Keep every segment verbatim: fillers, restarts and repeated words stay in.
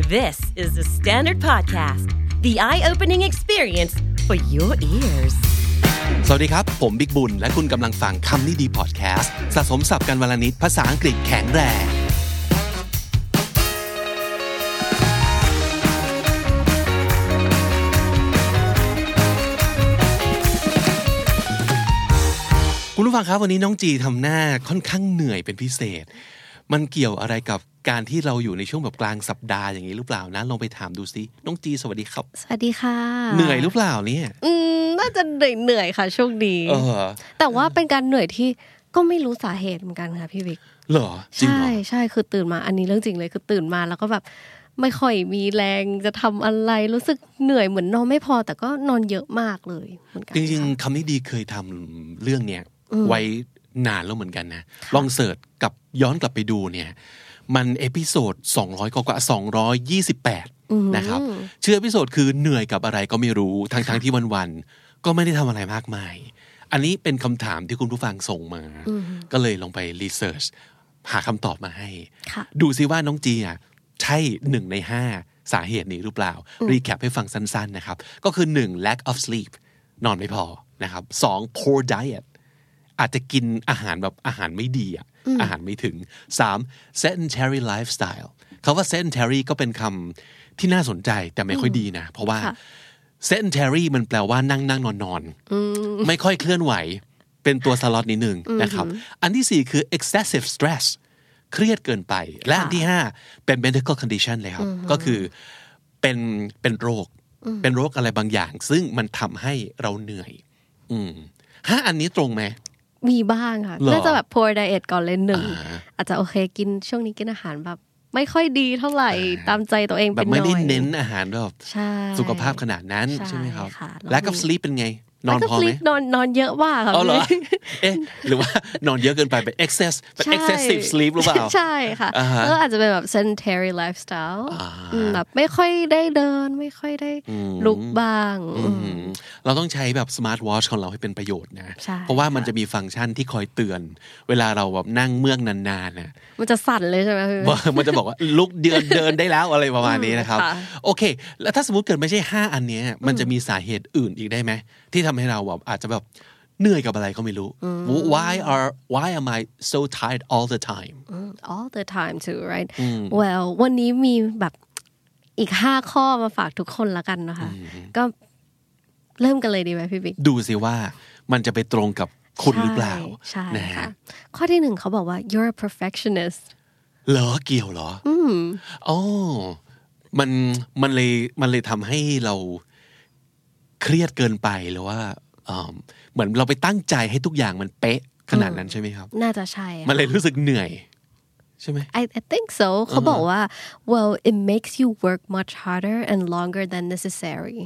This is the Standard Podcast, the eye-opening experience for your ears. สวัสดีครับผมบิ๊กบุญและคุณกำลังฟังคำนี้ดีพอดแคสต์สะสมศัพท์กันวลนิดภาษาอังกฤษแข็งแรงคุณผู้ฟังครับวันนี้น้องจีทำหน้าค่อนข้างเหนื่อยเป็นพิเศษมันเกี่ยวอะไรกับการที่เราอยู่ในช่วงแบบกลางสัปดาห์อย่างนี้หรือเปล่านะลองไปถามดูซิน้องจีสวัสดีครับสวัสดีค่ะเหนื่อยหรือเปล่าเนี่ยอืมน่าจะเหนื่อยเหนื่อยค่ะช่วงนี้เออแต่ว่าเป็นการเหนื่อยที่ก็ไม่รู้สาเหตุเหมือนกันค่ะพี่วิกเหรอจริงเหรอใช่ใช่คือตื่นมาอันนี้เรื่องจริงเลยคือตื่นมาแล้วก็แบบไม่ค่อยมีแรงจะทำอะไรรู้สึกเหนื่อยเหมือนนอนไม่พอแต่ก็นอนเยอะมากเลยเหมือนกันจริงๆคำนี้ดีเคยทำเรื่องเนี้ยไว้นานแล้วเหมือนกันนะลองเสิร์ชกับย้อนกลับไปดูเนี่ยมันเอพิโซดสองร้อยกว่าสองร้อยยี่สิบแปดนะครับชื่อเอพิโซดคือเหนื่อยกับอะไรก็ไม่รู้ทั้งๆที่วันๆก็ไม่ได้ทำอะไรมากมายอันนี้เป็นคำถามที่คุณผู้ฟังส่งมาก็เลยลองไปรีเสิร์ชหาคำตอบมาให้ดูซิว่าน้องจีอ่ะใช่หนึ่งในห้าสาเหตุนี้หรือเปล่ารีแคปให้ฟังสั้นๆนะครับก็คือหนึ่ง lack of sleep นอนไม่พอนะครับสอง poor dietอาจจะกินอาหารแบบอาหารไม่ดีอ่ะอาหารไม่ถึงสาม sedentary lifestyle คำว่า sedentary ก็เป็นคำที่น่าสนใจแต่ไม่ค่อยดีนะเพราะว่า sedentary มันแปลว่านั่งนั่งนอนนอนไม่ค่อยเคลื่อนไหวเป็นตัวสล็อตนิดนึงนะครับอันที่สี่คือ excessive stress เครียดเกินไปและอันที่ห้าเป็น medical condition เลยครับก็คือเป็นเป็นโรคเป็นโรคอะไรบางอย่างซึ่งมันทำให้เราเหนื่อยอืมห้าอันนี้ตรงไหมมีบ้างค่ะน่าจะแบบ poor diet ก่อนเลยหนึ่งอาจจะโอเคกินช่วงนี้กินอาหารแบบไม่ค่อยดีเท่าไหร่ตามใจตัวเองเป็นน้อยแบบไม่ได้เน้นอาหารแบบสุขภาพขนาดนั้นใช่ไหมครับแล้วกับ sleep เป็นไงนอนพอไหมนอนนอนเยอะมากค่ะอ๋อเหรอเอ๊ะหรือว่านอนเยอะเกินไปเป็น excess เป็น excessive sleep หรือเปล่าใช่ค่ะแล้วอาจจะเป็นแบบ sedentary lifestyle แบบไม่ค่อยได้เดินไม่ค่อยได้ลุกบ้างเราต้องใช้แบบ smart watch ของเราให้เป็นประโยชน์นะเพราะว่ามันจะมีฟังก์ชันที่คอยเตือนเวลาเราแบบนั่งเมือกนานๆนะมันจะสั่นเลยใช่ไหมมันจะบอกว่าลุกเดินเดินได้แล้วอะไรประมาณนี้นะครับโอเคแล้วถ้าสมมติเกิดไม่ใช่ห้าอันนี้มันจะมีสาเหตุอื่นอีกได้ไหมที่ทำให้เราแบบอาจจะแบบเหนื่อยกับอะไรก็ไม่รู้ why are why am I so tired all the time all the time too right well วันนี้มีแบบอีกห้าข้อมาฝากทุกคนละกันนะคะก็เริ่มกันเลยดีไหมพี่บิ๊กดูสิว่ามันจะไปตรงกับคุณหรือเปล่าใช่ค่ะข้อที่หนึ่งเขาบอกว่า you're a perfectionist เหรอเกี่ยวเหรออืมอ๋อมันมันเลยมันเลยทำให้เราเครียดเกินไปหรือว่าเหมือนเราไปตั้งใจให้ทุกอย่างมันเป๊ะขนาดนั้นใช่ไหมครับน่าจะใช่มันเลยรู้สึกเหนื่อยใช่ไหม I I think so เขาบอกว่า well it makes you work much harder and longer than necessary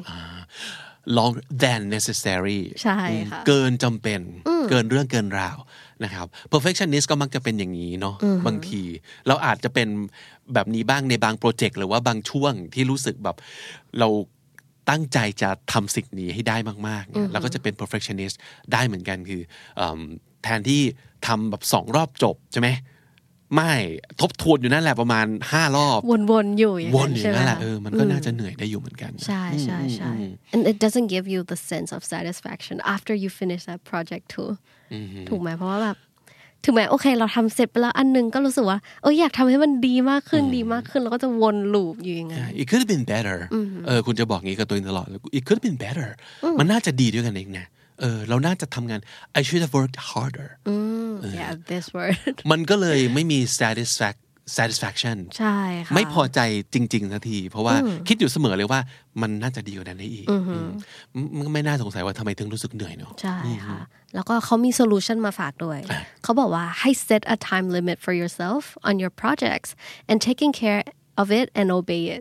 longer than necessary ใช่ค่ะเกินจำเป็นเกินเรื่องเกินราวนะครับ perfectionist ก็มักจะเป็นอย่างนี้เนาะบางทีเราอาจจะเป็นแบบนี้บ้างในบางโปรเจกต์หรือว่าบางช่วงที่รู้สึกแบบเราตั้งใจจะทำสิ่งนี้ให้ได้มากๆเนี่ยแล้วก็จะเป็น perfectionist ได้เหมือนกันคือแทนที่ทำแบบสองรอบจบใช่ไหมไม่ทบทวนอยู่นั่นแหละประมาณห้ารอบวนๆอยู่วนอยู่นั่นแหละเออมันก็น่าจะเหนื่อยได้อยู่เหมือนกันใช่ใช่ใช่ and it doesn't give you the sense of satisfaction after you finish that project too ถูกไหมเพราะว่าแบบถึงแม้โอเคเราทำเสร็จไปแล้วอันนึงก็รู้สึกว่าเอออยากทำให้มันดีมากขึ้นดีมากขึ้นแล้วก็จะวนลูปอยู่อย่างนั้น It could have been better เออคุณจะบอกงี้กับตัวเองตลอด It could have been better มันน่าจะดีด้วยกันเองนะเออเราน่าจะทำงาน I should have worked harder yeah this word มันก็เลยไม่มี satisfact satisfaction ใช่ค่ะไม่พอใจจริงๆสักทีเพราะว่าคิดอยู่เสมอเลยว่ามันน่าจะดีกว่านั้นได้อีกมันไม่น่าสงสัยว่าทำไมถึงรู้สึกเหนื่อยเนาะใช่ค่ะแล้วก็เขามีโซลูชันมาฝากด้วยเขาบอกว่าให้ set a time limit for yourself on your projects and taking care of it and obey it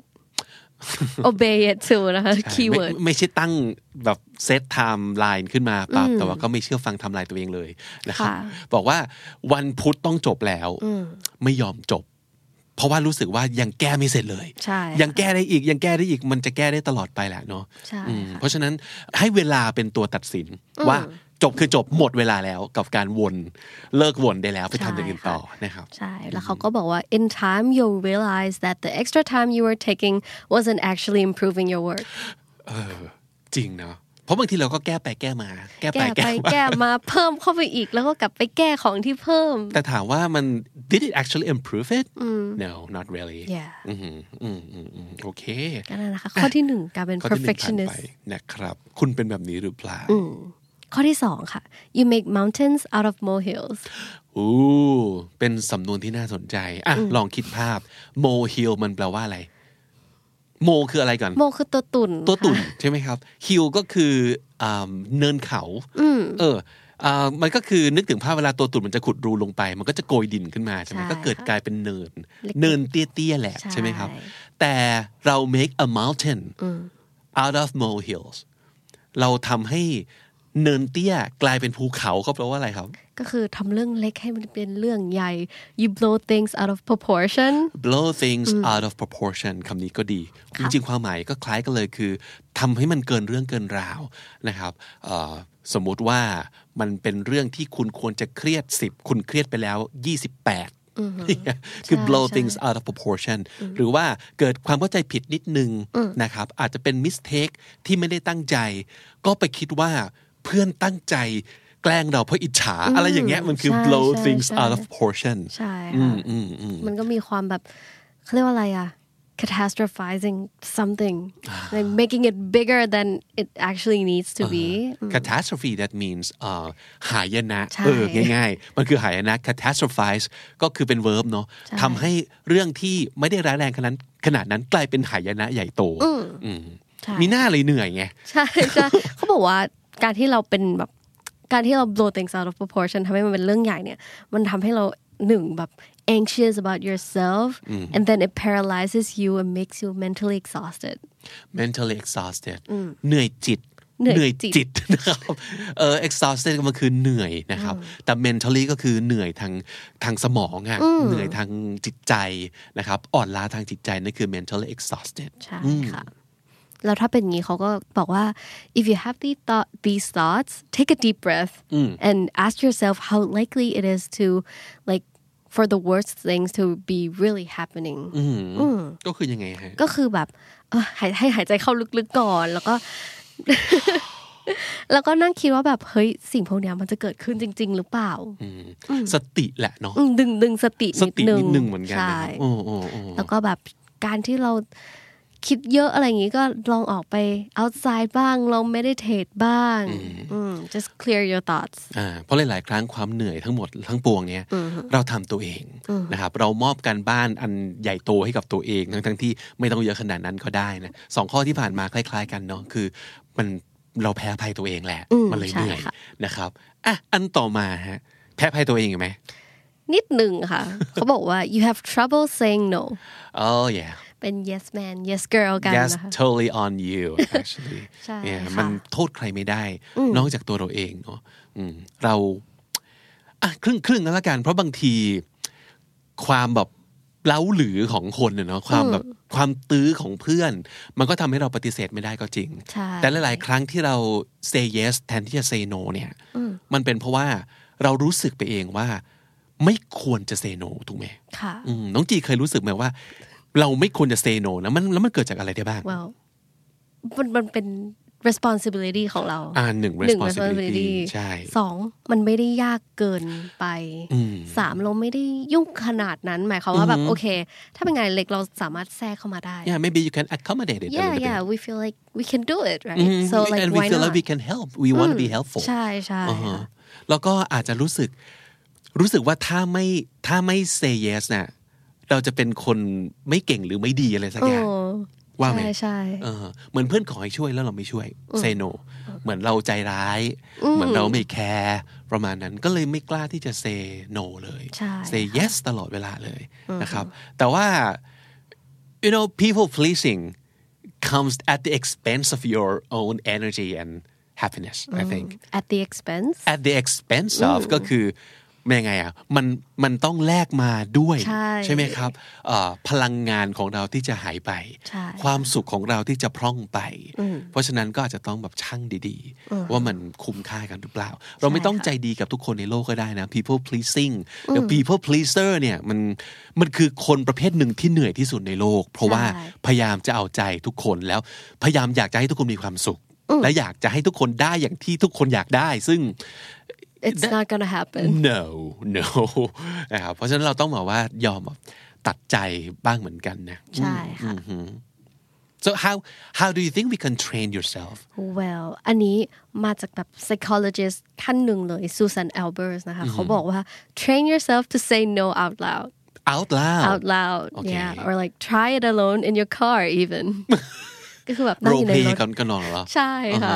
obey it too นะคะ keyword ไม่ใช่ตั้งแบบเซตไทม์ไลน์ขึ้นมาปั๊บแต่ว่าก็ไม่เชื่อฟังไทม์ไลน์ตัวเองเลยนะครับบอกว่าวันพุธต้องจบแล้วไม่ยอมจบเพราะว่ารู้สึกว่ายังแก้ไม่เสร็จเลยยังแก้ได้อีกยังแก้ได้อีกมันจะแก้ได้ตลอดไปแหละเนาะเพราะฉะนั้นให้เวลาเป็นตัวตัดสินว่าจบคือจบหมดเวลาแล้วกับการวนเลิกวนได้แล้วไปทำอย่างอื่นต่อนะครับใช่แล้วเขาก็บอกว่า in time you'll realize that the extra time you were taking wasn't actually improving your work เออจริงเนาะเพราะบางทีเราก็แก้ไปแก้มาแก้ไปแก้มาแก้มาเพิ่มเข้าไปอีกแล้วก็กลับไปแก้ของที่เพิ่มแต่ถามว่ามัน did it actually improve it no not really yeah อืมอืมอืมอืมโอเคก็นั่นนะคะข้อที่หนึ่งการเป็น perfectionist นะครับคุณเป็นแบบนี้หรือเปล่าข้อที่สองค่ะ you make mountains out of molehills อู้เป็นสำนวนที่น่าสนใจอ่ะลองคิดภาพ molehill มันแปลว่าอะไรโมคืออะไรก่อนโมคือตัวตุ่นตัวตุ่นใช่ไหมครับฮิลก็คือเนินเขาเออมันก็คือนึกถึงภาพเวลาตัวตุ่นมันจะขุดรูลงไปมันก็จะโกยดินขึ้นมาใช่ไหมก็เกิดกลายเป็นเนินเนินเตี้ยๆแหละใช่ไหมครับแต่เรา make a mountain out of molehills เราทำให้เนินเตี้ยกลายเป็นภูเขาเขาแปลว่าอะไรครับก็คือทำเรื่องเล็กให้มันเป็นเรื่องใหญ่ you blow things out of proportion blow things out of proportion คำนี้ก็ดีจริงๆความหมายก็คล้ายกันเลยคือทำให้มันเกินเรื่องเกินราวนะครับสมมุติว่ามันเป็นเรื่องที่คุณควรจะเครียดสิบคุณเครียดไปแล้วยี่สิบแปดคือ blow things out of proportion หรือว่าเกิดความเข้าใจผิดนิดนึงนะครับอาจจะเป็น mistake ที่ไม่ได้ตั้งใจก็ไปคิดว่าเพื่อนตั้งใจแกล้งเราเพราะอิจฉาอะไรอย่างเงี้ยมันคือ blow things out of proportion ใช่ค่ะมันก็มีความแบบเขาเรียกว่าอะไรอะ catastrophizing something like making it bigger than it actually needs to be catastrophe that means หายนะเออง่ายๆมันคือหายนะ catastrophize ก็คือเป็น verb เนาะทำให้เรื่องที่ไม่ได้ร้ายแรงขนาดนั้นขนาดนั้นกลายเป็นหายนะใหญ่โตมีหน้าเลยเหนื่อยไงใช่ใช่เขาบอกว่าการที่เราเป็นแบบการที่เรา blow things out of proportion ทำให้มันเป็นเรื่องใหญ่เนี่ยมันทำให้เราหนึ่งแบบ anxious about yourself and then it paralyzes you and makes you mentally exhausted mentally exhausted เหนื่อยจิตเหนื่อยจิตนะครับเออ exhausted มันคือเหนื่อยนะครับแต่ mentally ก็คือเหนื่อยทางทางสมองอ่ะเหนื่อยทางจิตใจนะครับอ่อนล้าทางจิตใจนั่นคือ mentally exhausted ใช่ค่ะแล้วถ้าเป็นอย่างนี้เขาก็บอกว่า if you have these thought these thoughts take a deep breath and ask yourself how likely it is to like for the worst things to be really happening ก็คือยังไงฮะก็คือแบบให้ให้หายใจเข้าลึกๆก่อนแล้วก็แล้วก็นั่งคิดว่าแบบเฮ้ยสิ่งพวกนี้มันจะเกิดขึ้นจริงๆหรือเปล่าสติแหละเนาะดึงดึงสตินิดนึงนิดนึงเหมือนกันนะโอ้โอ้แล้วก็แบบการที่เราคิดเยอะอะไรอย่างงี้ก็ลองออกไป outside บ้างลอง meditate บ้าง just clear your thoughts อ่าเพราะหลายๆครั้งความเหนื่อยทั้งหมดทั้งปวงเนี้ยเราทำตัวเองนะครับเรามอบการบ้านอันใหญ่โตให้กับตัวเองทั้งทั้งที่ไม่ต้องเยอะขนาดนั้นก็ได้นะสองข้อที่ผ่านมาคล้ายๆกันเนาะคือมันเราแพ้ภัยตัวเองแหละมันเลยเหนื่อยนะครับอ่ะอันต่อมาฮะแพ้ภัยตัวเองไหมนิดหนึ่งค่ะ เขาบอกว่า you have trouble saying no oh yeah เป็น yes man yes girl กันนะคะ yes totally on you actually ใช่มันโทษใครไม่ได้นอกจากตัวเราเองเนาะเราอ่ะครึ่งครึ่งแล้วละกันเพราะบางทีความแบบเล้าหรือของคนเนาะความแบบความตื้อของเพื่อนมันก็ทำให้เราปฏิเสธไม่ได้ก็จริงแต่หลายๆครั้งที่เรา say yes แทนที่จะ say no เนี่ยมันเป็นเพราะว่าเรารู้สึกไปเองว่าไม่ควรจะ say no ถูกไหมค่ะน้องจีเคยรู้สึกไหมว่าเราไม่ควรจะ say no นะมันแล้วมันเกิดจากอะไรได้บ้าง well มันมันเป็น responsibility ของเราอ่าหนึ่ง responsibility ใช่สองมันไม่ได้ยากเกินไปสามเราไม่ได้ยุ่งขนาดนั้นหมายความว่าแบบโอเคถ้าเป็นงานเล็กเราสามารถแทรกเข้ามาได้ yeah maybe you can accommodate it yeah yeah we feel like we can do it right so like and we feel like we can help we want to be helpful ใช่ใช่แล้วก็อาจจะรู้สึกรู้สึกว่าถ้าไม่ถ้าไม่ say yes น่ะเราจะเป็นคนไม่เก่งหรือไม่ดีอะไรสักอย่างว่าไหมใช่เออเหมือนเพื่อนขอให้ช่วยแล้วเราไม่ช่วย say no เหมือนเราใจร้ายเหมือนเราไม่แคร์ประมาณนั้นก็เลยไม่กล้าที่จะ say no เลย say yes ตลอดเวลาเลยนะครับแต่ว่า you know people pleasing comes at the expense of your own energy and happiness I think at the expense at the expense of ก็คือยังไงอ่ะมันมันต้องแลกมาด้วยใช่ใช่ไหมครับเอ่อพลังงานของเราที่จะหายไป ความสุขของเราที่จะพร่องไป เพราะฉะนั้นก็อาจจะต้องแบบชั่งดีๆว่ามันคุ้มค่ากันหรือเปล่าเราไม่ต้องใจดีกับทุกคนในโลกก็ได้นะ people pleasing แต่ people pleaser เนี่ยมันมันคือคนประเภทหนึ่งที่เหนื่อยที่สุดในโลกเพราะว่าพยายามจะเอาใจทุกคนแล้วพยายามอยากจะให้ทุกคนมีความสุขและอยากจะให้ทุกคนได้อย่างที่ทุกคนอยากได้ซึ่ง It's not gonna happen. No, no. นะครับเพราะฉะนั้นเราต้องบอกว่ายอมตัดใจบ้างเหมือนกันนะใช่ค่ะ So how how do you think we can train yourself? Well อันนี้มาจากแบบ psychologist ท่านหนึ่งเลย Susan Albers นะคะเขาบอกว่า train yourself to say no out loud. Out loud? Out loud. Okay. Yeah. Or like try it alone in your car even. ก็คือแบบนั่งอยู่ในรถก็นอนเหรอใช่ค่ะ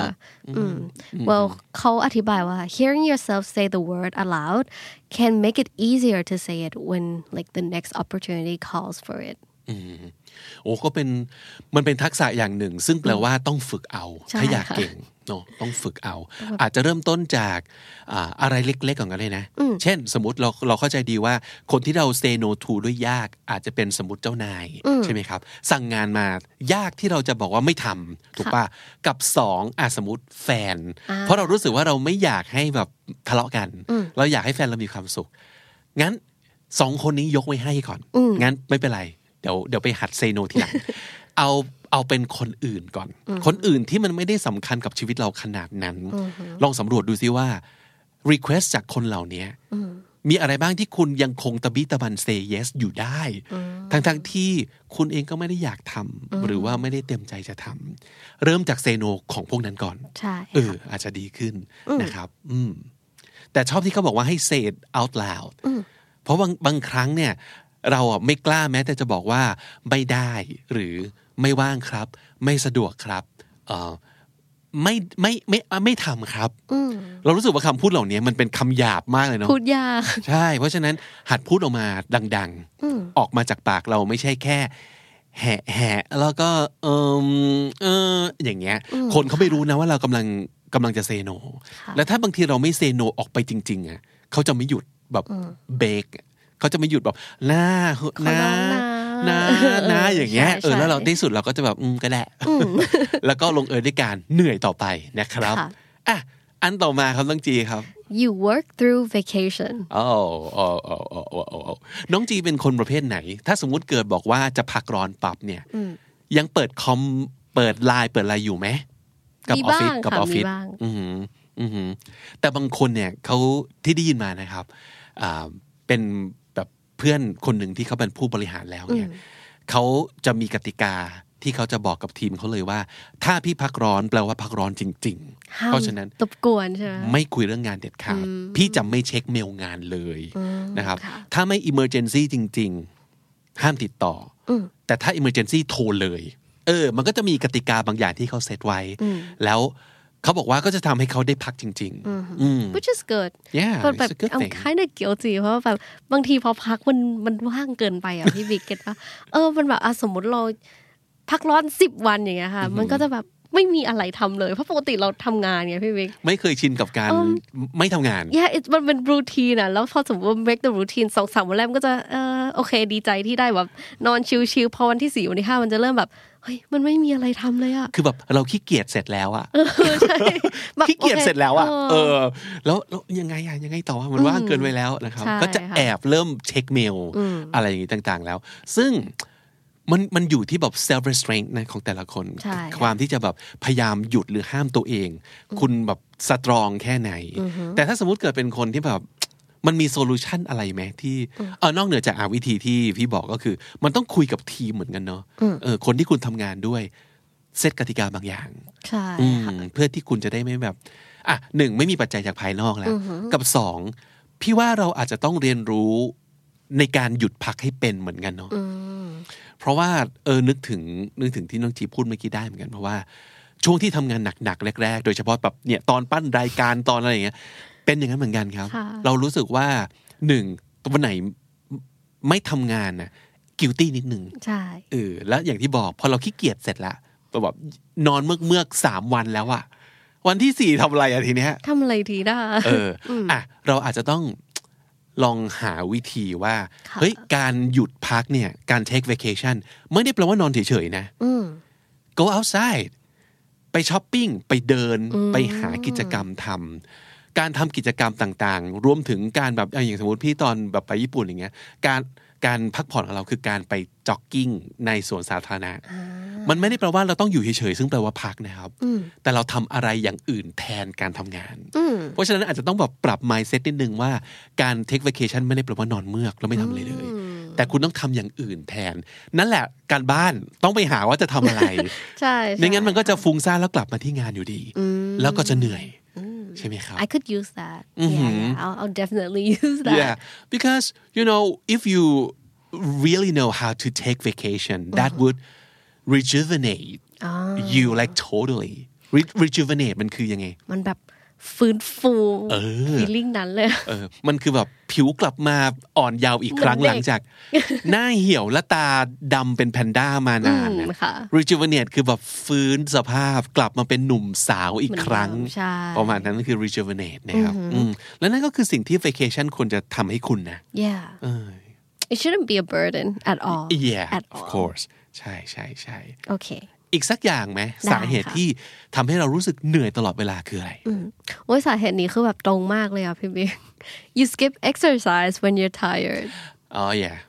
well เขาอธิบายว่า hearing yourself say the word aloud can make it easier to say it when like the next opportunity calls for it โอ้ก็เป็นมันเป็นทักษะอย่างหนึ่งซึ่งแปลว่าต้องฝึกเอาถ้าอยากเก่งเนาะต้องฝึกเอาอาจจะเริ่มต้นจากอะไรเล็กๆก่อนก็ได้นะเช่นสมมติเราเราเข้าใจดีว่าคนที่เรา say no to ด้วยยากอาจจะเป็นสมมติเจ้านายใช่ไหมครับสั่งงานมายากที่เราจะบอกว่าไม่ทำถูกป่ะกับสองอ่ะสมมติแฟนเพราะเรารู้สึกว่าเราไม่อยากให้แบบทะเลาะกันเราอยากให้แฟนเรามีความสุขงั้นสองคนนี้ยกไว้ให้ก่อนงั้นไม่เป็นไรเดี๋ยวเดี๋ยวไปหัด say no ทีหลังเอาเอาเป็นคนอื่นก่อนคนอื่นที่มันไม่ได้สำคัญกับชีวิตเราขนาดนั้นลองสำรวจดูซิว่า request จากคนเหล่านี้มีอะไรบ้างที่คุณยังคงตะบิตะบัน say yes อยู่ได้ทั้งๆที่คุณเองก็ไม่ได้อยากทำหรือว่าไม่ได้เต็มใจจะทำเริ่มจาก say no ของพวกนั้นก่อนเอออาจจะดีขึ้นนะครับอืมแต่ชอบที่เขาบอกว่าให้ say it out loud เพราะบางบางครั้งเนี่ยเราอ่ะไม่กล้าแม้แต่จะบอกว่าไม่ได้หรือไม่ว่างครับไม่สะดวกครับเอ่อไม่ไม่ไม่ไม่ทำครับเรารู้สึกว่าคำพูดเหล่านี้มันเป็นคำหยาบมากเลยเนาะพูดยากใช่เพราะฉะนั้นหัดพูดออกมาดังๆออกมาจากปากเราไม่ใช่แค่แหะแหะแล้วก็เออเอออย่างเงี้ยคนเขาไม่รู้นะว่าเรากำลังกำลังจะเซโนแล้วถ้าบางทีเราไม่เซโนออกไปจริงๆอ่ะเขาจะไม่หยุดแบบเบรกเขาจะไม่หยุดแบบหน้าหน้าหน้าหน้าอย่างเงี้ยเออแล้วเราที่สุดเราก็จะแบบอืมก็ได้แล้วก็ลงเอยด้วยการเหนื่อยต่อไปนะครับอ่ะอันต่อมาครับน้องจีครับ You work through vacation อ๋ออ๋ออ๋ออ๋อน้องจีเป็นคนประเภทไหนถ้าสมมุติเกิดบอกว่าจะพักร้อนปั๊บเนี่ยยังเปิดคอมเปิดไลน์เปิดอะไรอยู่ไหมกับออฟฟิศกับออฟฟิศอืออือแต่บางคนเนี่ยเขาที่ได้ยินมานะครับอ่าเป็นแบบเพื่อนคนหนึ่งที่เขาเป็นผู้บริหารแล้วเนี่ยเขาจะมีกติกาที่เขาจะบอกกับทีมเขาเลยว่าถ้าพี่พักร้อนแปลว่าพักร้อนจริงๆเพราะฉะนั้นตบกวนใช่ไหมไม่คุยเรื่องงานเด็ดขาดพี่จะไม่เช็คเมลงานเลยนะครับถ้าไม่ emergency จริงๆห้ามติดต่อแต่ถ้า emergency โทรเลยเออมันก็จะมีกติกาบางอย่างที่เขาเซตไว้แล้วเขาบอกว่าก็จะทำให้เขาได้พักจริงๆ which is good yeah but but I'm kind of guilty เพราะว่าแบบบางทีพอพักมันมันว่างเกินไปอ่ะพี่บิ๊กเก็ตป่ะเออมันแบบสมมติเราพักร้อนสิบวันอย่างเงี้ยค่ะมันก็จะแบบไม่มีอะไรทำเลยเพราะปกติเราทำงานไงพี่บิ๊กไม่เคยชินกับการไม่ทำงาน yeah it มันเป็นรูทีนอ่ะแล้วพอสมมติว่า break the routine สองสามวันแรกมันก็จะเออโอเคดีใจที่ได้แบบนอนชิลๆพอวันที่สี่วันที่ห้ามันจะเริ่มแบบเฮ้ยมันไม่มีอะไรทำเลยอะคือแบบเราขี้เกียจเสร็จแล้วอะขี้เกียจเสร็จแล้วอะเออแล้วแล้วยังไงอะยังไงต่อมันว่างเกินไปแล้วนะครับก็จะแอบเริ่มเช็คเมลอะไรอย่างงี้ต่างๆแล้วซึ่งมันมันอยู่ที่แบบ self restraint นะของแต่ละคนความที่จะแบบพยายามหยุดหรือห้ามตัวเองคุณแบบสตรองแค่ไหนแต่ถ้าสมมุติเกิดเป็นคนที่แบบมันมีโซลูชันอะไรไหมที่เออนอกเหนือจากวิธีที่พี่บอกก็คือมันต้องคุยกับทีมเหมือนกันเนาะเออคนที่คุณทำงานด้วยเซตกติกาบางอย่างใช่เพื่อที่คุณจะได้ไม่แบบอ่ะหนึ่งไม่มีปัจจัยจากภายนอกแล้วกับสองพี่ว่าเราอาจจะต้องเรียนรู้ในการหยุดพักให้เป็นเหมือนกันเนาะเพราะว่าเออนึกถึงนึกถึงที่น้องจีพูดเมื่อกี้ได้เหมือนกันเพราะว่าช่วงที่ทำงานหนักๆแรกๆโดยเฉพาะแบบเนี่ยตอนปั้นรายการตอนอะไรอย่างเงี้ยเป็นอย่างนั้นเหมือนกันครับเรารู้สึกว่าหนึ่งวันไหนไม่ทำงานน่ะ guilty นิดนึงใช่เออแล้วอย่างที่บอกพอเราขี้เกียจเสร็จละแบบนอนเมือกเมือกสามวันแล้วอะวันที่สี่ทำอะไรอะทีเนี้ยทำอะไรทีได้เอออ่ะเราอาจจะต้องลองหาวิธีว่าเฮ้ยการหยุดพักเนี่ยการ take vacation ไม่ได้แปลว่านอนเฉยๆนะ go outside ไปช้อปปิ้งไปเดินไปหากิจกรรมทำการทำกิจกรรมต่างๆรวมถึงการแบบอย่างสมมติพี่ตอนแบบไปญี่ปุ่นอย่างเงี้ยการการพักผ่อนของเราคือการไปจ็อกกิ้งในสวนสาธารณะมันไม่ได้แปลว่าเราต้องอยู่เฉยๆซึ่งแปลว่าพักนะครับแต่เราทำอะไรอย่างอื่นแทนการทำงานเพราะฉะนั้นอาจจะต้องแบบปรับ mindset นิดนึงว่าการ take vacation ไม่ได้แปลว่านอนเมือกแล้วไม่ทำอะไรเลยแต่คุณต้องทำอย่างอื่นแทนนั่นแหละการบ้านต้องไปหาว่าจะทำอะไรใช่ไม่งั้นมันก็จะฟุ้งซ่านแล้วกลับมาที่งานอยู่ดีแล้วก็จะเหนื่อยใช่ไหมครับ I could use that yeah, yeah I'll, I'll definitely use that yeah because you know if you really know how to take vacation that would rejuvenate you like totally Re- rejuvenate มันคือยังไงมันแบบฟื้นฟู feeling นั้นเลยเออมันคือแบบผิวกลับมาอ่อนเยาว์อีกครั้งหลังจากหน้าเหี่ยวและตาดำเป็นแพนด้ามานานนะ rejuvenate คือแบบฟื้นสภาพกลับมาเป็นหนุ่มสาวอีกครั้งประมาณนั้นคือ rejuvenate นะครับแล้วนั่นก็คือสิ่งที่ vacation ควรจะทำให้คุณนะ yeah it shouldn't be a burden at all yeah at of course ใช่ใช่ใช่โอเคอีกสักอย่างไหมสาเหตุที่ทำให้เรารู้สึกเหนื่อยตลอดเวลาคืออะไรโอ้ยสาเหตุนี้คือแบบตรงมากเลยอ่ะพี่บิ๊ก you skip exercise when you're tired oh yeah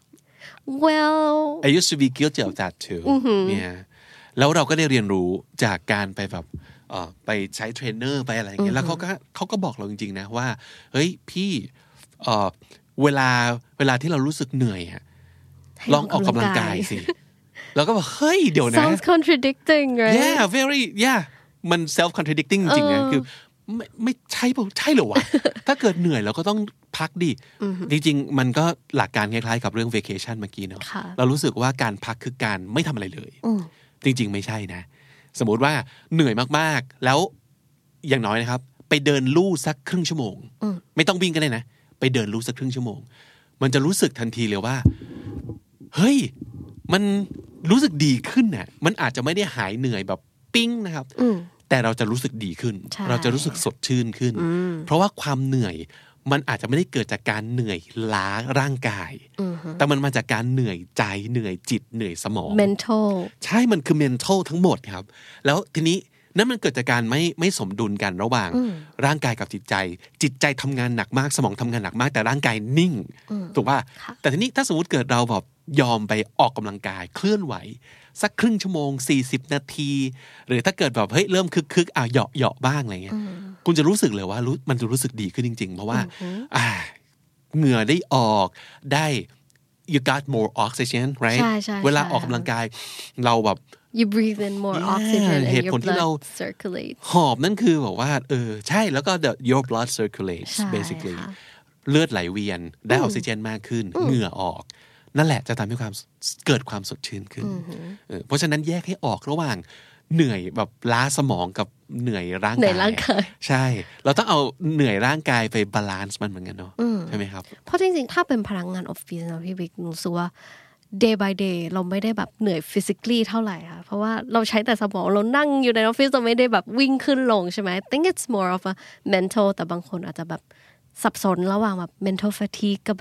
well I used to be guilty of that too yeah แล้วเราก็ได้เรียนรู้จากการไปแบบเอ่อไปใช้เทรนเนอร์ไปอะไรอย่างเงี้ยแล้วเขาก็เขาก็บอกเราจริงๆนะว่าเฮ้ยพี่เอ่อเวลาเวลาที่เรารู้สึกเหนื่อยอ่ะลองออกกำลังกายสิแล้วก็บอกเฮ้ยเดี๋ยวนะ sounds contradicting right yeah very yeah มัน self contradicting จริงๆนะคือไม่ไม่ใช่ป่ะใช่เหรอวะ ถ้าเกิดเหนื่อยเราก็ต้องพักดิจริงๆมันก็หลักการคล้ายๆกับเรื่อง vacation เมื่อกี้เนาะเรารู้สึกว่าการพักคือการไม่ทำอะไรเลยจริงๆไม่ใช่นะสมมติว่าเหนื่อยมากๆแล้วอย่างน้อยนะครับไปเดินลู่สักครึ่งชั่วโมงไม่ต้องวิ่งก็ได้นะไปเดินลู่สักครึ่งชั่วโมงมันจะรู้สึกทันทีเลยว่าเฮ้ยมันรู้สึกดีขึ้นน่ะมันอาจจะไม่ได้หายเหนื่อยแบบปิ้งนะครับแต่เราจะรู้สึกดีขึ้นเราจะรู้สึกสดชื่นขึ้นเพราะว่าความเหนื่อยมันอาจจะไม่ได้เกิดจากการเหนื่อยล้าร่างกายแต่มันมาจากการเหนื่อยใจเหนื่อยจิตเหนื่อยสมอง mental ใช่มันคือ mental ทั้งหมดครับแล้วทีนี้นั่นมันเกิดจากการไม่ไม่สมดุลกันระหว่างร่างกายกับจิตใจจิตใจทำงานหนักมากสมองทำงานหนักมากแต่ร่างกายนิ่งถูกป่ะแต่ทีนี้ถ้าสมมติเกิดเราแบบยอมไปออกกำลังกายเคลื่อนไหวสักครึ่งชั่วโมงสี่สิบนาทีหรือถ้าเกิดแบบเฮ้ยเริ่มคึกๆอ่ะเหยาะเหยาะบ้างอะไรเงี้ยคุณจะรู้สึกเลยว่ารู้มันจะรู้สึกดีขึ้นจริงๆเพราะว่าอ่าเหงื่อได้ออกได้ you got more oxygen right เวลาออกกำลังกายเราแบบ you breathe in more oxygen and your blood circulates หอบนั่นคือแบบว่าเออใช่แล้วก็ the your blood circulates basically เลือดไหลเวียนได้ออกซิเจนมากขึ้นเหงื่อออกนั่นแหละจะทำให้ความเกิดความสดชื่นขึ้นเพราะฉะนั้นแยกให้ออกระหว่างเหนื่อยแบบล้าสมองกับเหนื่อยร่างกายเหนื่อยร่างกายใช่เราต้องเอาเหนื่อยร่างกายไปบาลานซ์มันเหมือนกันเนาะใช่ไหมครับเพราะจริงๆถ้าเป็นพนักงานออฟฟิศนะพี่บิ๊กรู้สึกว่า day by day เราไม่ได้แบบเหนื่อย physically เท่าไหร่ค่ะเพราะว่าเราใช้แต่สมองเรานั่งอยู่ในออฟฟิศเราไม่ได้แบบวิ่งขึ้นลงใช่ไหม I think it's more of a mental แต่บางคนอาจจะแบบสับสนระหว่างแบบ mental fatigue กับแบบ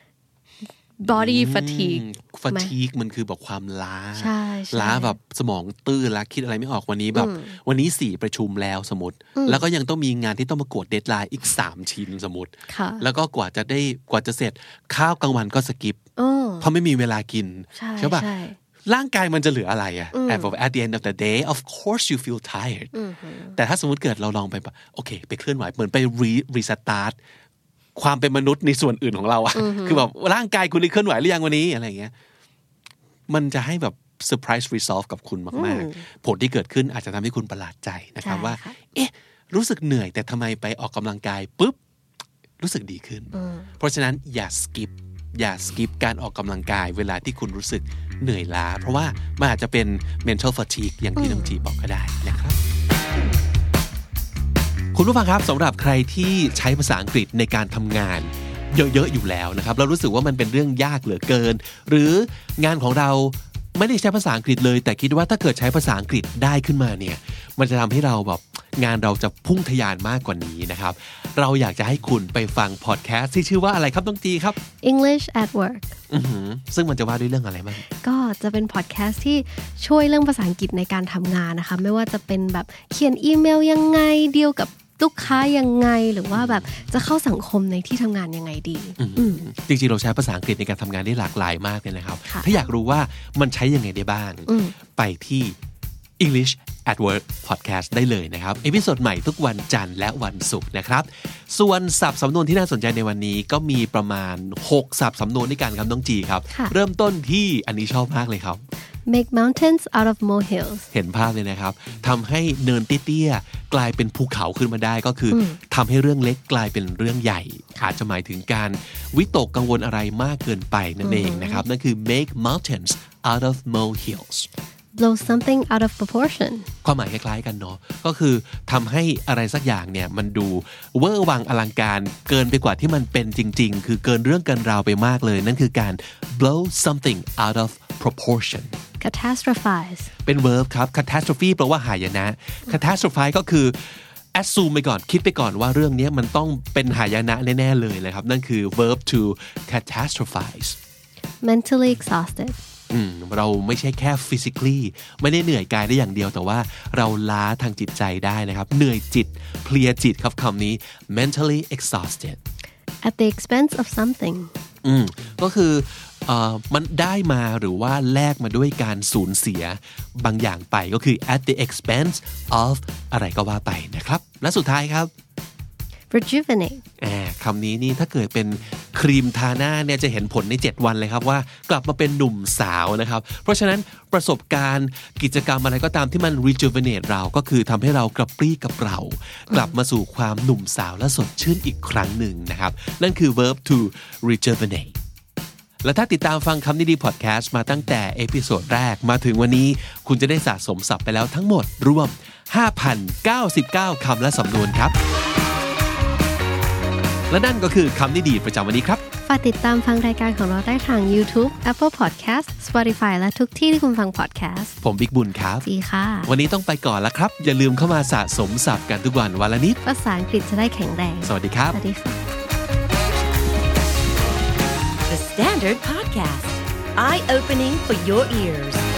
body fatigue fatigue มันคือแบบความล้าล้าแบบสมองตื้อล้าคิดอะไรไม่ออกวันนี้แบบวันนี้สี่ประชุมแล้วสมมติแล้วก็ยังต้องมีงานที่ต้องมากดเดดไลน์อีกสามชิ้นสมมติแล้วก็กว่าจะได้กว่าจะเสร็จข้าวกลางวันก็สกิปเพราะไม่มีเวลากินใช่ป่ะร่างกายมันจะเหลืออะไรอะ at the end of the day of course you feel tired แต่ถ้าสมมติเกิดเราลองไปแบบโอเคไปเคลื่อนไหวเหมือนไป restartความเป็นมนุษย์ในส่วนอื่นของเราอะคือแบบร่างกายคุณได้เคลื่อนไหวหรือยังวันนี้อะไรอย่างเงี้ยมันจะให้แบบ surprise resolve กับคุณมากๆผลที่เกิดขึ้นอาจจะทำให้คุณประหลาดใจนะครับว่าเอ๊ะรู้สึกเหนื่อยแต่ทำไมไปออกกำลังกายปุ๊บรู้สึกดีขึ้นเพราะฉะนั้นอย่า skip อย่า skip การออกกำลังกายเวลาที่คุณรู้สึกเหนื่อยล้าเพราะว่ามันอาจจะเป็น mental fatigue อย่างที่น้องจีบอกก็ได้นะครับคุณผู้ฟังครับสำหรับใครที่ใช้ภาษาอังกฤษในการทำงานเยอะๆอยู่แล้วนะครับเรารู้สึกว่ามันเป็นเรื่องยากเหลือเกินหรืองานของเราไม่ได้ใช้ภาษาอังกฤษเลยแต่คิดว่าถ้าเกิดใช้ภาษาอังกฤษได้ขึ้นมาเนี่ยมันจะทำให้เราแบบงานเราจะพุ่งทะยานมากกว่านี้นะครับเราอยากจะให้คุณไปฟังพอดแคสต์ที่ชื่อว่าอะไรครับน้องจีครับ English at Work อือหือซึ่งมันจะว่าด้วยเรื่องอะไรบ้างก็จะเป็นพอดแคสต์ที่ช่วยเรื่องภาษาอังกฤษในการทำงานนะคะไม่ว่าจะเป็นแบบเขียนอีเมลยังไงดีลกับลูกค้ายังไงหรือว่าแบบจะเข้าสังคมในที่ทำงานยังไงดีจริงๆเราใช้ภาษาอังกฤษในการทำงานได้หลากหลายมากเลยนะครับถ้าอยากรู้ว่ามันใช้ยังไงได้บ้างไปที่ English at Work Podcast ได้เลยนะครับเอพิโซดใหม่ทุกวันจันทร์และวันศุกร์นะครับส่วนศัพท์สำนวนที่น่าสนใจในวันนี้ก็มีประมาณหกศัพท์สำนวนด้วยกันครับน้องจีครับเริ่มต้นที่อันนี้ชอบมากเลยครับ make mountains out of molehills เห็นภาพเลยนะครับทำให้เนินเตี้ยๆกลายเป็นภูเขาขึ้นมาได้ก็คือทำให้เรื่องเล็กกลายเป็นเรื่องใหญ่อาจจะหมายถึงการวิตกกังวลอะไรมากเกินไปนั่นเองนะครับนั่นคือ make mountains out of molehills blow something out of proportion ความหมายคล้ายๆกันเนาะก็คือทำให้อะไรสักอย่างเนี่ยมันดูเวอร์วังอลังการเกินไปกว่าที่มันเป็นจริงๆคือเกินเรื่องเกินราวไปมากเลยนั่นคือการ blow something out of proportion catastrophize เป็น verb ครับ catastrophe แปลว่าหายนะ catastrophize ก็คือ assume ไปก่อนคิดไปก่อนว่าเรื่องนี้มันต้องเป็นหายนะแน่ๆเลยนะครับนั่นคือ verb to catastrophize mentally exhausted เราไม่ใช่แค่ physically ไม่ได้เหนื่อยกายได้อย่างเดียวแต่ว่าเราล้าทางจิตใจได้นะครับเหนื่อยจิตเพลียจิตครับคำนี้ mentally exhausted at the expense of something อืมก็คือเอ่อมันได้มาหรือว่าแลกมาด้วยการสูญเสียบางอย่างไปก็คือ at the expense of อะไรก็ว่าไปนะครับและสุดท้ายครับ rejuvenate คำนี้นี่ถ้าเกิดเป็นครีมทาหน้าเนี่ยจะเห็นผลในเจ็ดวันเลยครับว่ากลับมาเป็นหนุ่มสาวนะครับเพราะฉะนั้นประสบการณ์กิจกรรมอะไรก็ตามที่มัน rejuvenate เราก็คือทำให้เรากระปรี้กระเปร่ากลับมาสู่ความหนุ่มสาวและสดชื่นอีกครั้งหนึ่งนะครับนั่นคือ verb to rejuvenate และถ้าติดตามฟังคำนี้ดีพอดแคสต์มาตั้งแต่เอพิโซดแรกมาถึงวันนี้คุณจะได้สะสมศัพท์ไปแล้วทั้งหมดรวม ห้าพันเก้าสิบเก้า คำและสำนวนครับและนั่นก็คือคำนี้ดีประจำวันนี้ครับฝากติดตามฟังรายการของเราได้ทาง YouTube Apple Podcast Spotify และทุกที่ที่คุณฟัง podcast ผมบิ๊กบุญครับจีค่ะวันนี้ต้องไปก่อนแล้วครับอย่าลืมเข้ามาสะสมศัพท์กันทุกวันวันละนิดภาษาอังกฤษจะได้แข็งแรงสวัสดีครับสวัสดีค่ะ The Standard Podcast Eye Opening for Your Ears